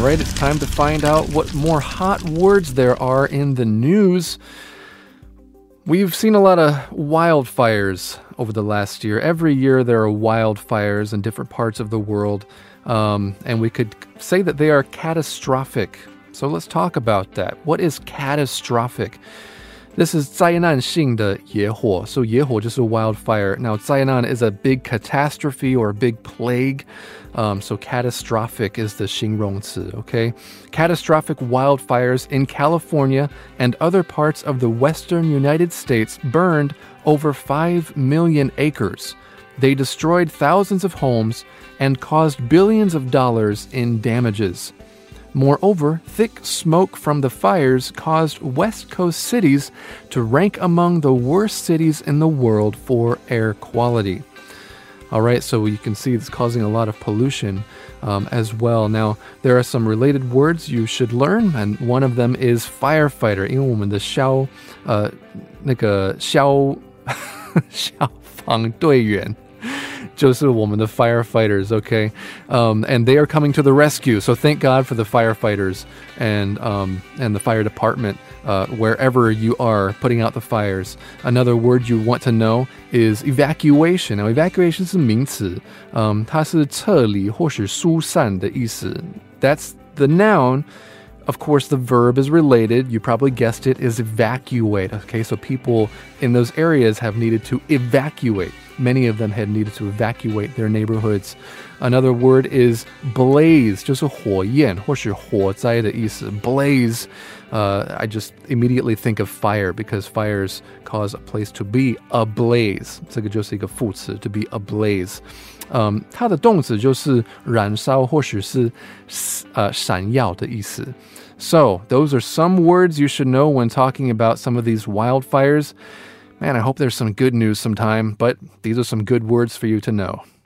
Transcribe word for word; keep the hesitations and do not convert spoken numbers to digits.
right, it's time to find out what more hot words there are in the news. We've seen a lot of wildfires over the last year. Every year there are wildfires in different parts of the world, um, and we could say that they are catastrophic. So let's talk about that. What is catastrophic? This is 灾难性的野火. So 野火 just a wildfire. Now 灾难 is a big catastrophe or a big plague. Um, so catastrophic is the 形容词, okay? Catastrophic wildfires in California and other parts of the western United States burned over five million acres. They destroyed thousands of homes and caused billions of dollars in damages. Moreover, thick smoke from the fires caused West Coast cities to rank among the worst cities in the world for air quality. All right, so you can see it's causing a lot of pollution um, as well. Now, there are some related words you should learn, and one of them is firefighter. 因为我们的消呃那个消消防队员就是我们的 firefighters, okay? Um, and they are coming to the rescue. So thank God for the firefighters and um, and the fire department uh, wherever you are putting out the fires. Another word you want to know is evacuation. Now, evacuation 是名词，um, 它是撤离或是疏散的意思。That's the noun. Of course, the verb is related. You probably guessed it, is evacuate. Okay, so people in those areas have needed to evacuate. Many of them had needed to evacuate their neighborhoods. Another word is blaze, 就是火焰或是火灾的意思. Blaze, uh, I just immediately think of fire because fires cause a place to be ablaze. 这个就是一个副词, to be ablaze. Um, 它的动词就是燃烧或者是呃闪耀的意思. So, those are some words you should know when talking about some of these wildfires. Man, I hope there's some good news sometime, but these are some good words for you to know.